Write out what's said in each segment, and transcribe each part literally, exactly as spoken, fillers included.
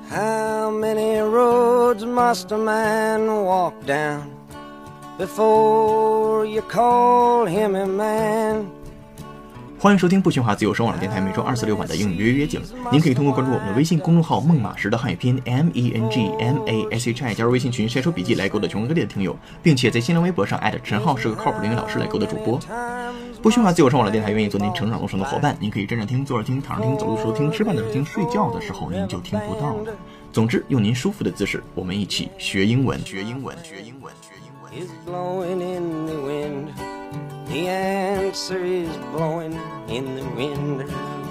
How many roads must a man walk down before you call him a man? 欢迎收听不喧哗自由声网络电台每周二四六晚的英语约约景。您可以通过关注我们的微信公众号孟马时的汉语拼音 M E N G M A S H I 加入微信群晒出笔记来勾搭全国各地的听友，并且在新浪微博上艾特陈浩是个靠谱的英语老师来勾搭主播。不喧哗自由声网络电台愿意做您成长路上的伙伴，您可以站着听、坐着听、躺着听、走路时候听、吃饭的时候听、睡觉的时候您就听不到了。总之，用您舒服的姿势，我们一起学英文，学英文，学英文，学英文。 The answer is blowing in the wind.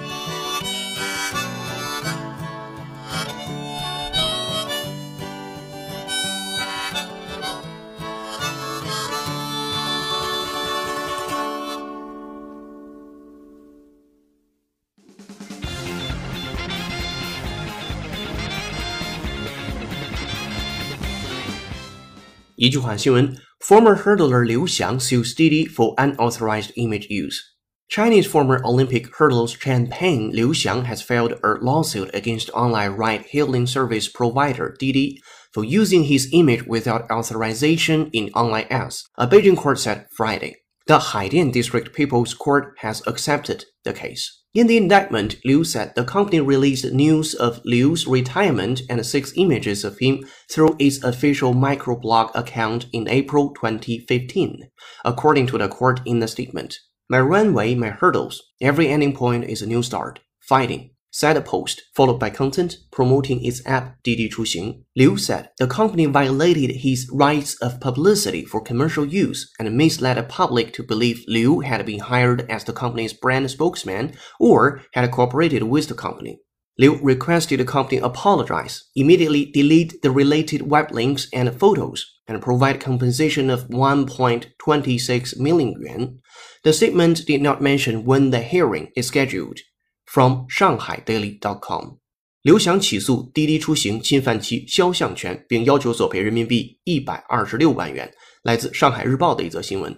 一句话新闻 Former hurdler Liu Xiang sues Didi for unauthorized image use. Chinese former Olympic hurdler champion Liu Xiang has filed a lawsuit against online ride-hailing service provider Didi for using his image without authorization in online ads, a Beijing court said Friday. The Haidian District People's Court has accepted the case. In the indictment, Liu said the company released news of Liu's retirement and six images of him through its official microblog account in April twenty fifteen, according to the court in the statement. My runway, my hurdles. Every ending point is a new start. Fighting, said a post, followed by content promoting its app Didi Chuxing. Liu said the company violated his rights of publicity for commercial use and misled the public to believe Liu had been hired as the company's brand spokesman or had cooperated with the company. Liu requested the company apologize, immediately delete the related web links and photos, and provide compensation of one point two six million yuan. The statement did not mention when the hearing is scheduled.From Shanghai Daily dot com， 刘翔起诉滴滴出行侵犯其肖像权，并要求索赔人民币一百二十六万元。来自上海日报的一则新闻。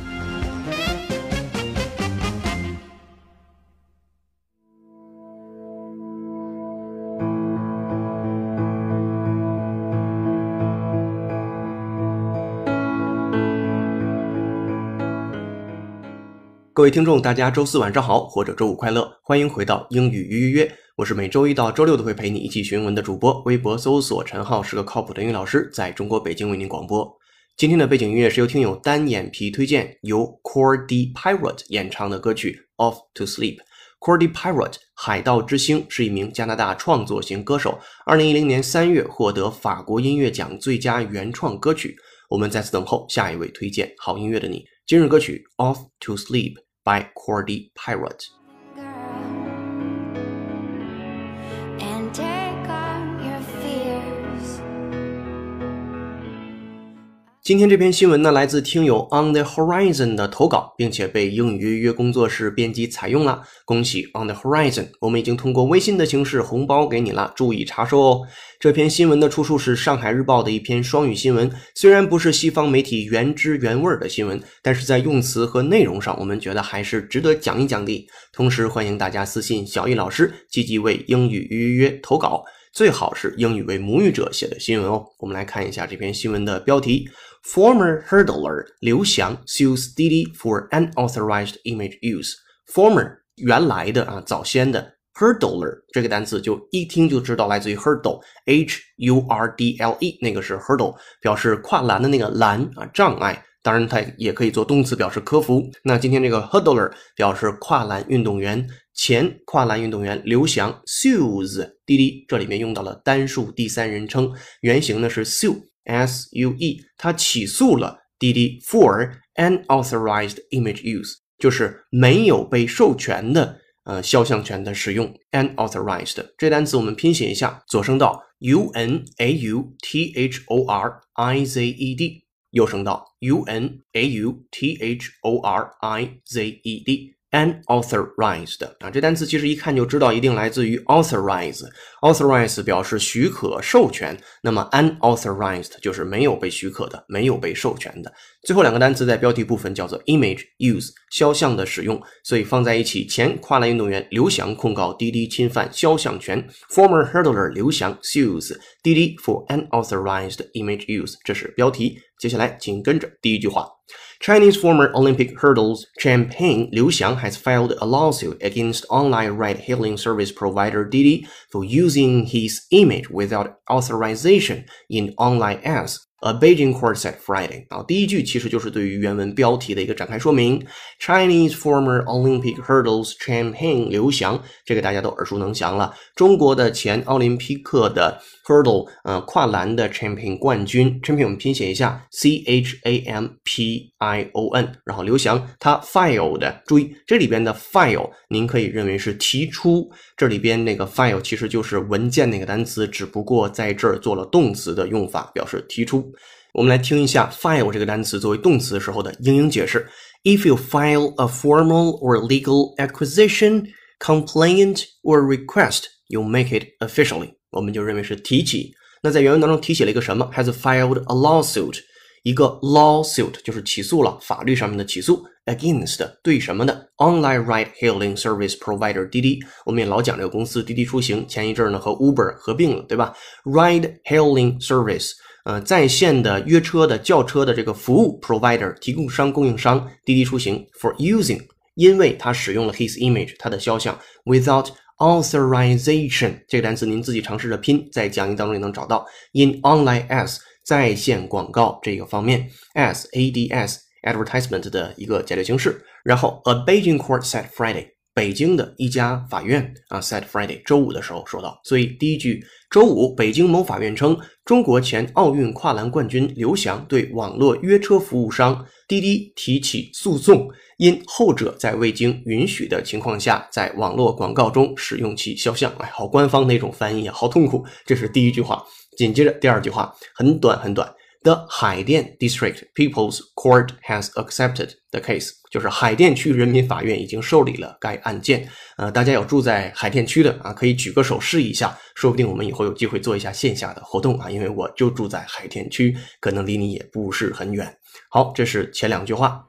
各位听众大家周四晚上好，或者周五快乐，欢迎回到英语约约约，我是每周一到周六都会陪你一起学英文的主播，微博搜索陈浩是个靠谱的英语老师，在中国北京为您广播。今天的背景音乐是由听友单眼皮推荐，由 Cordy Pirate 演唱的歌曲 Off to Sleep。 Cordy Pirate 海盗之星是一名加拿大创作型歌手，二零一零年三月获得法国音乐奖最佳原创歌曲。我们在此等候下一位推荐好音乐的你。今日歌曲 Off to Sleep by Cordy Pirate。 今天这篇新闻呢，来自听友 On the Horizon 的投稿，并且被英语约约工作室编辑采用了。恭喜 On the Horizon， 我们已经通过微信的形式红包给你了，注意查收哦。这篇新闻的出处是上海日报的一篇双语新闻，虽然不是西方媒体原汁原味的新闻，但是在用词和内容上我们觉得还是值得讲一讲的。同时欢迎大家私信小易老师，积极为英语约约约投稿，最好是英语为母语者写的新闻哦。我们来看一下这篇新闻的标题。Former hurdler 刘翔 sues Didi for unauthorized image use. Former 原来的啊，早先的 hurdler 这个单词就一听就知道来自于 hurdle H U R D L E， 那个是 hurdle， 表示跨栏的那个栏啊，障碍。当然它也可以做动词表示克服。那今天这个 hurdler 表示跨栏运动员，前跨栏运动员刘翔 sues 滴滴，这里面用到了单数第三人称，原型呢是 sue S U E， 他起诉了滴滴 for unauthorized image use， 就是没有被授权的呃肖像权的使用 unauthorized。 这单词我们拼写一下，左声道 U N A U T H O R I Z E D， 右声道 U N A U T H O R I Z E D unauthorized 啊，这单词其实一看就知道一定来自于 authorize， authorize 表示许可授权，那么 unauthorized 就是没有被许可的，没有被授权的。最后两个单词在标题部分叫做 image use 肖像的使用，所以放在一起，前跨栏运动员刘翔控告滴滴侵犯肖像权， former hurdler 刘翔 sues 滴滴 for unauthorized image use， 这是标题。接下来请跟着第一句话， Chinese former Olympic hurdles champion Liu Xiang has filed a lawsuit against online ride-hailing service provider Didi for using his image without authorization in online ads, a Beijing court said Friday。 啊，第一句其实就是对于原文标题的一个展开说明。 Chinese former Olympic hurdles champion Liu Xiang， 这个大家都耳熟能详了，中国的前奥林匹克的 hurdle 呃跨栏的 champion 冠军， champion 我们拼写一下 C H A M P I O N， 然后刘翔他 filed， 注意这里边的 file 您可以认为是提出，这里边那个 file 其实就是文件那个单词，只不过在这儿做了动词的用法，表示提出。我们来听一下 file 这个单词作为动词时候的英英解释。 If you file a formal or legal acquisition, complaint or request, you make it officially， 我们就认为是提起。那在原文当中提起了一个什么？ has filed a lawsuit， 一个 lawsuit 就是起诉了，法律上面的起诉， against 对什么的？ online ride-hailing service provider 滴滴，我们也老讲这个公司滴滴出行，前一阵呢和 Uber 合并了，对吧？ ride-hailing service呃，在线的约车的叫车的这个服务 provider 提供商供应商滴滴出行 for using， 因为他使用了 his image 他的肖像 without authorization 这个单词您自己尝试着拼，在讲义当中也能找到 in online ads 在线广告这个方面 ads ads advertisement 的一个解列形式，然后 a Beijing court said Friday， 北京的一家法院啊 said Friday 周五的时候说到，所以第一句周五北京某法院称，中国前奥运跨栏冠军刘翔对网络约车服务商滴滴提起诉讼，因后者在未经允许的情况下在网络广告中使用其肖像。哎，好官方那种翻译啊，好痛苦。这是第一句话。紧接着第二句话很短很短， The 海淀 District People's Court has accepted the case， 就是海淀区人民法院已经受理了该案件。呃，大家有住在海淀区的啊，可以举个手试一下，说不定我们以后有机会做一下线下的活动啊，因为我就住在海淀区，可能离你也不是很远。好，这是前两句话。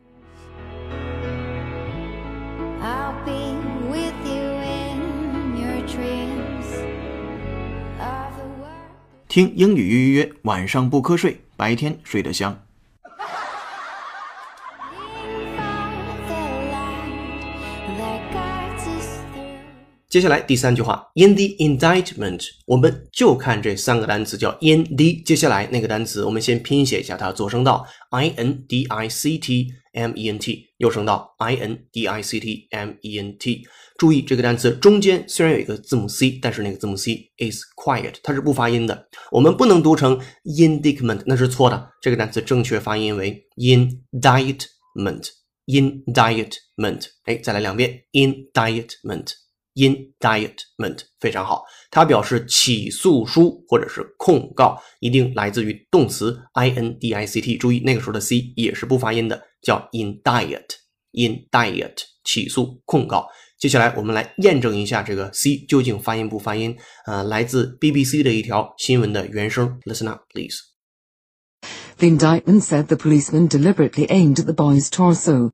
听英语约约约，晚上不瞌睡，白天睡得香。 接下来第三句话 in the indictment， 我们就看这三个单词叫 in the， 接下来那个单词我们先拼写一下它做声道 I N D I C T M E N T， 右声道 I N D I C T M E N T。 注意这个单词中间虽然有一个字母 C， 但是那个字母 C is quiet， 它是不发音的，我们不能读成 indictment， 那是错的，这个单词正确发音为 indictment indictment。 哎，再来两遍 indictment indictment， 非常好，它表示起诉书或者是控告，一定来自于动词 I N D I C T， 注意那个时候的 C 也是不发音的，叫 indict indict 起诉控告。接下来我们来验证一下这个 C 究竟发音不发音，呃，来自 B B C 的一条新闻的原声 Listen up please。 The indictment said the policeman deliberately aimed at the boy's torso.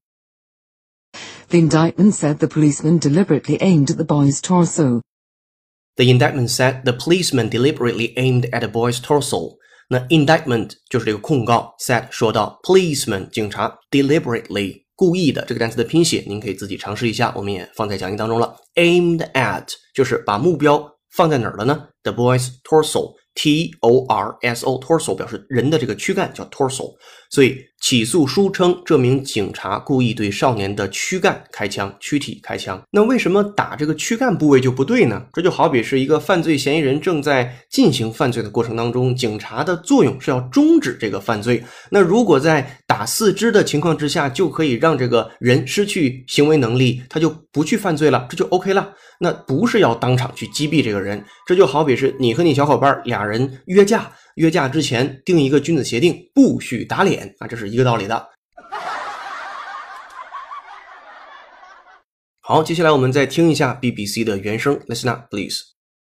The indictment said the policeman deliberately aimed at the boy's torso. The indictment said the policeman deliberately aimed at the boy's torso. 那 indictment 就是这个控告 said 说到 policeman 警察 deliberately 故意的，这个单词的拼写您可以自己尝试一下，我们也放在讲义当中了。 aimed at 就是把目标放在哪儿了呢？ The boy's torso T O R S O torso 表示人的这个躯干叫 torso， 所以起诉书称这名警察故意对少年的躯干开枪，躯体开枪。那为什么打这个躯干部位就不对呢？这就好比是一个犯罪嫌疑人正在进行犯罪的过程当中，警察的作用是要终止这个犯罪，那如果在打四肢的情况之下就可以让这个人失去行为能力，他就不去犯罪了，这就 OK 了，那不是要当场去击毙这个人。这就好比是你和你小伙伴俩人约架，约架之前定一个君子协定，不许打脸啊，这是一个道理的。 好，接下来我们再听一下 B B C 的原声 Listen up, please.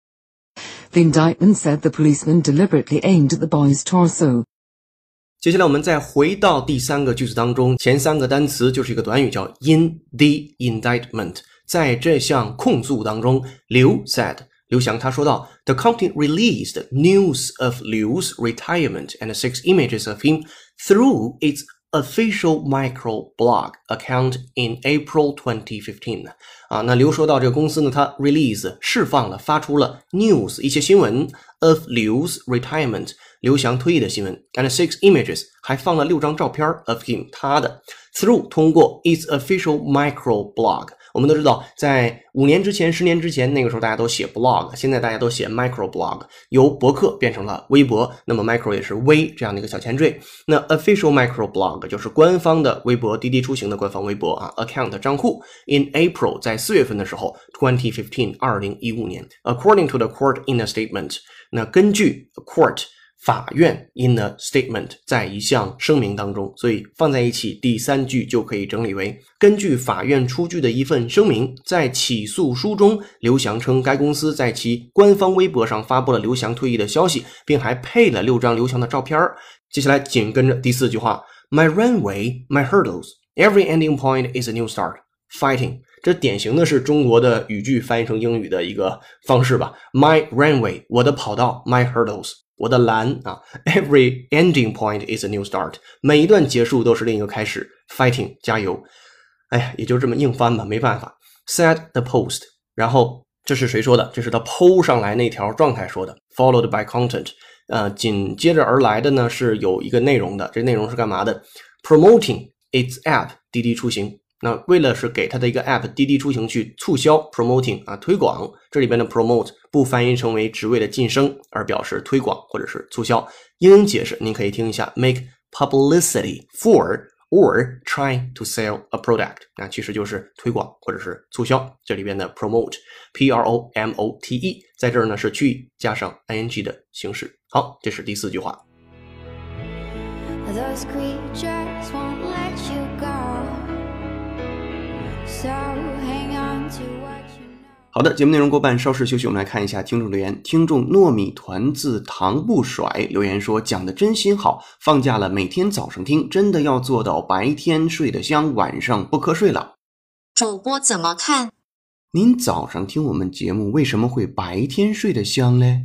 The indictment said the policeman deliberately aimed at the boy's torso. 接下来我们再回到第三个句子当中，前三个单词就是一个短语叫 in the indictment。在这项控诉当中，刘 said 刘翔他说到 The company released news of Liu's retirement and six images of him through its official microblog account in April twenty fifteen 啊，那刘说到这个公司呢，它 release 释放了发出了 news 一些新闻 of Liu's retirement 刘翔退役的新闻 and six images 还放了六张照片 of him 他的 through 通过 its official microblog。我们都知道，在五年之前、十年之前，那个时候大家都写 blog， 现在大家都写 microblog， 由博客变成了微博，那么 micro 也是微这样的一个小前缀。那 official microblog 就是官方的微博，滴滴出行的官方微博啊 ，account 账户。In April 在四月份的时候 ，twenty fifteen 二零一五年 ，according to the court in a statement， 那根据 court。法院 in a statement 在一项声明当中，所以放在一起第三句就可以整理为根据法院出具的一份声明，在起诉书中刘翔称该公司在其官方微博上发布了刘翔退役的消息，并还配了六张刘翔的照片。接下来紧跟着第四句话 My runway, my hurdles, every ending point is a new start, fighting 这典型的是中国的语句翻译成英语的一个方式吧 My runway 我的跑道 My hurdles我的栏啊 Every ending point is a new start 每一段结束都是另一个开始 Fighting 加油哎呀也就这么硬翻吧没办法 Said the post 然后这是谁说的这是他 po 上来那条状态说的 Followed by content 呃，紧接着而来的呢是有一个内容的这内容是干嘛的 Promoting its app 滴滴出行那为了是给他的一个 app 滴滴出行去促销 promoting 啊推广这里边的 promote 不翻译成为职位的晋升而表示推广或者是促销英英解释您可以听一下 make publicity for or trying to sell a product 那其实就是推广或者是促销这里边的 promote P R O M O T E 在这儿呢是去语加上 ing 的形式好这是第四句话 Those creatures won't let you go.So hang on to what you know. 好的，节目内容过半，稍事休息，我们来看一下听众留言。听众糯米团子糖不甩留言说：“讲的真心好，放假了每天早上听，真的要做到白天睡得香，晚上不瞌睡了。” 主播怎么看？ 您早上听我们节目，为什么会白天睡得香嘞？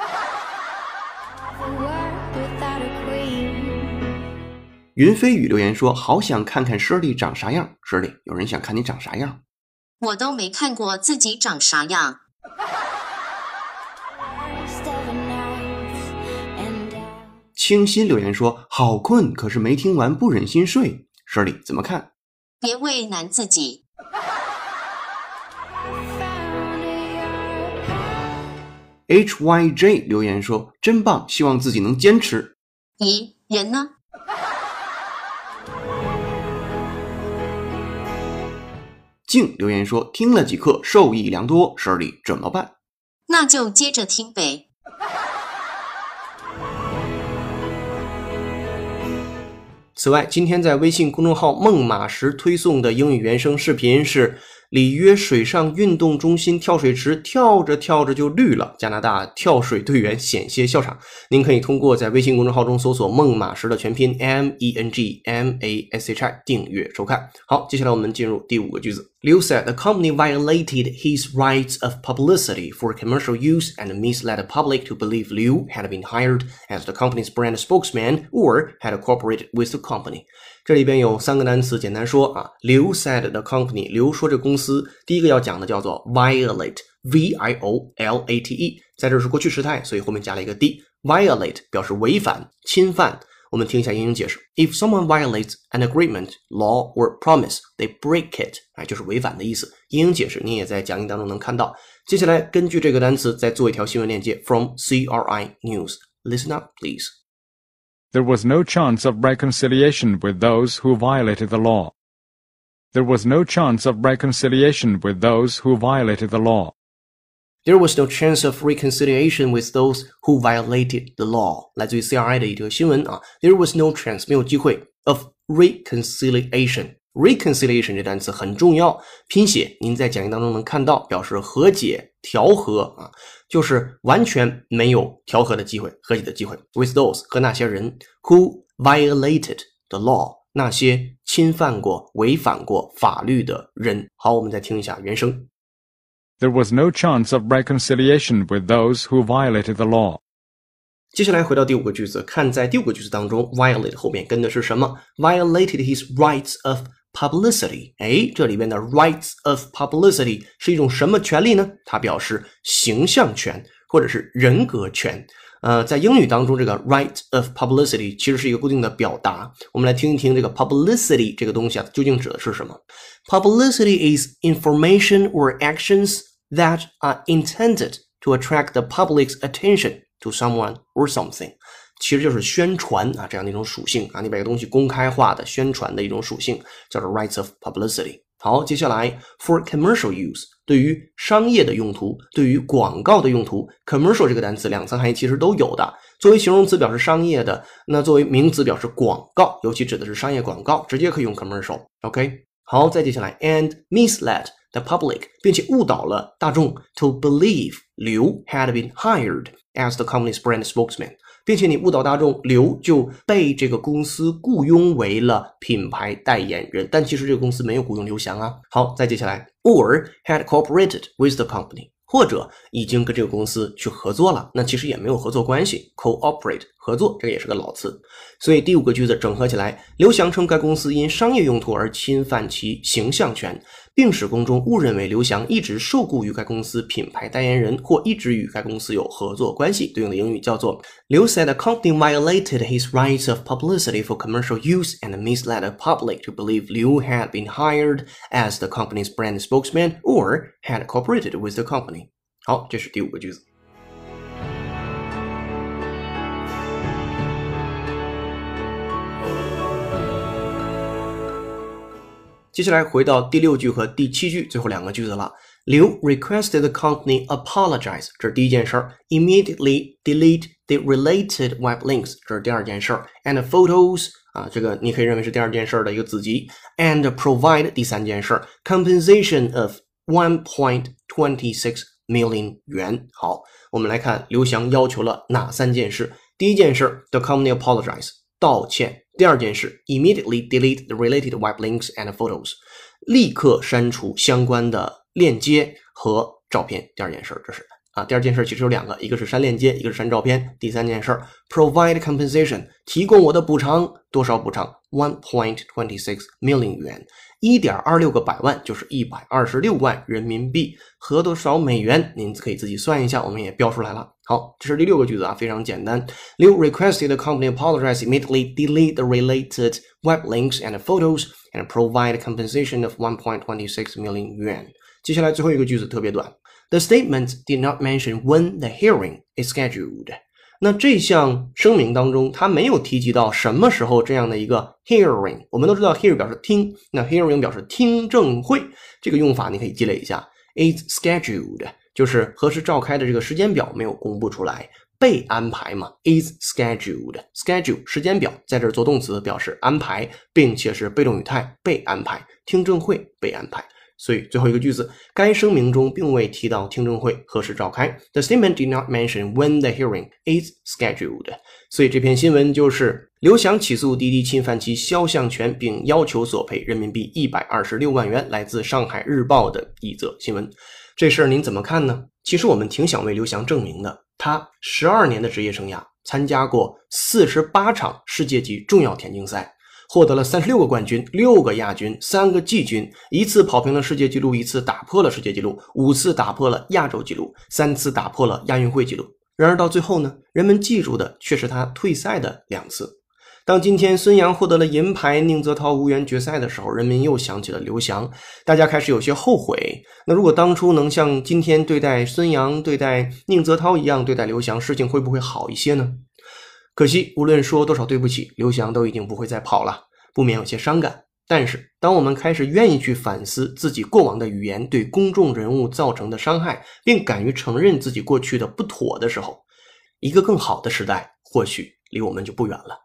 云飞宇留言说：“好想看看 Shirley 长啥样。”Shirley， 有人想看你长啥样？ 我都没看过自己长啥样。 清新留言说：“好困，可是没听完，不忍心睡。”Shirley 怎么看？ 别为难自己。 H Y J 留言说：“真棒，希望自己能坚持。” 咦，人呢？ 静留言说听了几课受益良多 Shirley 怎么办？ 那就接着听呗。 此外今天在微信公众号梦马识推送的英语原声视频是里约水上运动中心跳水池跳着跳着就绿了，加拿大跳水队员险些笑场。您可以通过在微信公众号中搜索梦马识的全拼 M E N G M A S H I 订阅收看。好，接下来我们进入第五个句子。Liu said the company violated his rights of publicity for commercial use and misled the public to believe Liu had been hired as the company's brand spokesman or had cooperated with the company. 这里边有三个单词，简单说啊 Liu said the company 刘说这公司第一个要讲的叫做 violate V I O L A T E 在这是过去时态，所以后面加了一个 d violate 表示违反侵犯。我们听一下英英解释 If someone violates an agreement, law or promise, they break it 哎，就是违反的意思。英英解释你也在讲义当中能看到。接下来根据这个单词再做一条新闻链接 from C R I News. Listen up, please.There was no chance of reconciliation with those who violated the law. There was no chance of reconciliation with those who violated the law. There was no chance of reconciliation with those who violated the law. 来自于 C R I 的一条新闻啊。There was no chance 没有机会 of reconciliation reconciliation 这单词很重要，拼写您在讲义当中能看到，表示和解、调和啊，就是完全没有调和的机会、和解的机会。with those 和那些人 who violated the law， 那些侵犯过、违反过法律的人。好，我们再听一下原声。 There was no chance of reconciliation with those who violated the law. 接下来回到第五个句子，看在第五个句子当中 violate 后面跟的是什么？ violated his rights of publicity。 诶，这里边的 rights of publicity 是一种什么权利呢？它表示形象权或者是人格权。呃，在英语当中，这个 right of publicity 其实是一个固定的表达。我们来听一听这个 publicity 这个东西啊，究竟指的是什么？ Publicity is information or actions that are intended to attract the public's attention to someone or something。 其实就是宣传啊这样的一种属性啊，你把一个东西公开化的宣传的一种属性，叫做 rights of publicity。 好，接下来 for commercial use， 对于商业的用途，对于广告的用途， commercial 这个单词两层含义其实都有的，作为形容词表示商业的，那作为名词表示广告，尤其指的是商业广告，直接可以用 commercial。 OK， 好，再接下来 and misled the public， 并且误导了大众 to believe Liu had been hired as the company's brand spokesman， 并且你误导大众刘就被这个公司雇佣为了品牌代言人，但其实这个公司没有雇佣刘翔啊。好，再接下来 or had cooperated with the company， 或者已经跟这个公司去合作了，那其实也没有合作关系， cooperate 合作，这个也是个老词。所以第五个句子整合起来，刘翔称该公司因商业用途而侵犯其形象权，并使公众误认为刘翔一直受雇于该公司品牌代言人或一直与该公司有合作关系。对应的英语叫做 Liu said the company violated his rights of publicity for commercial use and misled the public to believe Liu had been hired as the company's brand spokesman or had cooperated with the company。 好，这是第五个句子。接下来回到第六句和第七句最后两个句子了。Liu requested the company apologize， 这是第一件事儿 ，immediately delete the related web links， 这是第二件事儿 ，and photos 啊，这个你可以认为是第二件事儿的一个子集 ，and provide 第三件事儿 compensation of one point two six million 元。好，我们来看刘翔要求了哪三件事？第一件事 ，the company apologize， 道歉。第二件事 immediately delete the related web links and photos， 立刻删除相关的链接和照片。第二件事这是啊，第二件事其实有两个，一个是删链接，一个是删照片。第三件事 provide compensation， 提供我的补偿，多少补偿 one point two six million 元， 一点二六个百万就是一百二十六万人民币，合多少美元您可以自己算一下，我们也标出来了。好，这是第六个句子啊，非常简单。Liu requested the company apologize, immediately delete the related web links and photos, and provide compensation of one point two six million 元。接下来最后一个句子特别短。The statement did not mention when the hearing is scheduled。那这项声明当中，它没有提及到什么时候这样的一个 hearing。我们都知道 hear 表示听，那 hearing 表示听证会，这个用法你可以积累一下。Is scheduled 就是何时召开的这个时间表没有公布出来，被安排嘛 is scheduled， schedule 时间表在这儿做动词表示安排，并且是被动语态，被安排，听证会被安排。所以最后一个句子，该声明中并未提到听证会何时召开。The statement did not mention when the hearing is scheduled。 所以这篇新闻就是刘翔起诉滴滴侵犯其肖像权，并要求索赔人民币一百二十六万元，来自上海日报的一则新闻。这事儿您怎么看呢？其实我们挺想为刘翔证明的，他十二年的职业生涯参加过四十八场世界级重要田径赛，获得了三十六个冠军，六个亚军，三个季军，一次跑平了世界纪录，一次打破了世界纪录，五次打破了亚洲纪录，三次打破了亚运会纪录。然而到最后呢，人们记住的却是他退赛的两次。当今天孙杨获得了银牌，宁泽涛无缘决赛的时候，人们又想起了刘翔，大家开始有些后悔。那如果当初能像今天对待孙杨、对待宁泽涛一样对待刘翔，事情会不会好一些呢？可惜无论说多少对不起，刘翔都已经不会再跑了，不免有些伤感。但是当我们开始愿意去反思自己过往的语言对公众人物造成的伤害，并敢于承认自己过去的不妥的时候，一个更好的时代或许离我们就不远了。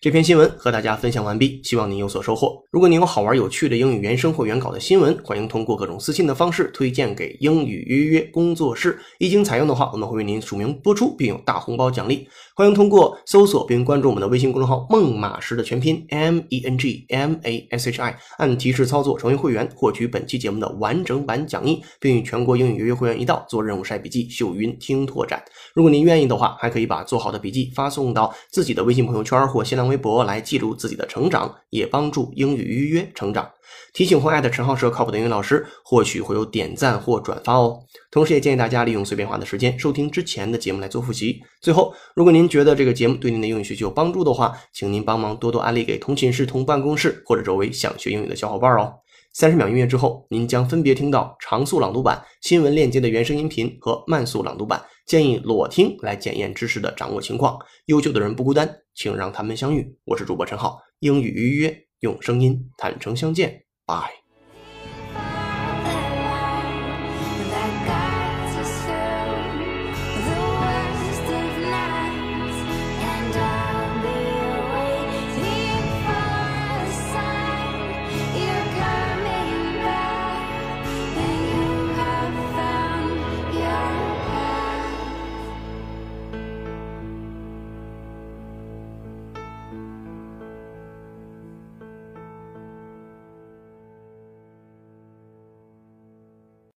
这篇新闻和大家分享完毕，希望您有所收获。如果您有好玩有趣的英语原声或原稿的新闻，欢迎通过各种私信的方式推荐给英语约约工作室。一经采用的话，我们会为您署名播出，并有大红包奖励。欢迎通过搜索并关注我们的微信公众号孟马识的全拼 M E N G M A S H I， 按提示操作成为会员，获取本期节目的完整版讲义，并与全国英语约约会员一道做任务晒笔记、秀云听拓展。如果您愿意的话，还可以把做好的笔记发送到自己的微信朋友圈或新浪微博来记录自己的成长，也帮助英语约约成长。提醒或艾特陈浩是靠谱的英语老师，或许会有点赞或转发哦。同时也建议大家利用碎片化的时间收听之前的节目来做复习。最后，如果您觉得这个节目对您的英语学习有帮助的话，请您帮忙多多安利给同寝室、同办公室或者周围想学英语的小伙伴哦。三十秒音乐之后，您将分别听到长速朗读版、新闻链接的原声音频和慢速朗读版，建议裸听来检验知识的掌握情况。优秀的人不孤单，请让他们相遇。我是主播陈浩，英语约约用声音坦诚相见。Bye.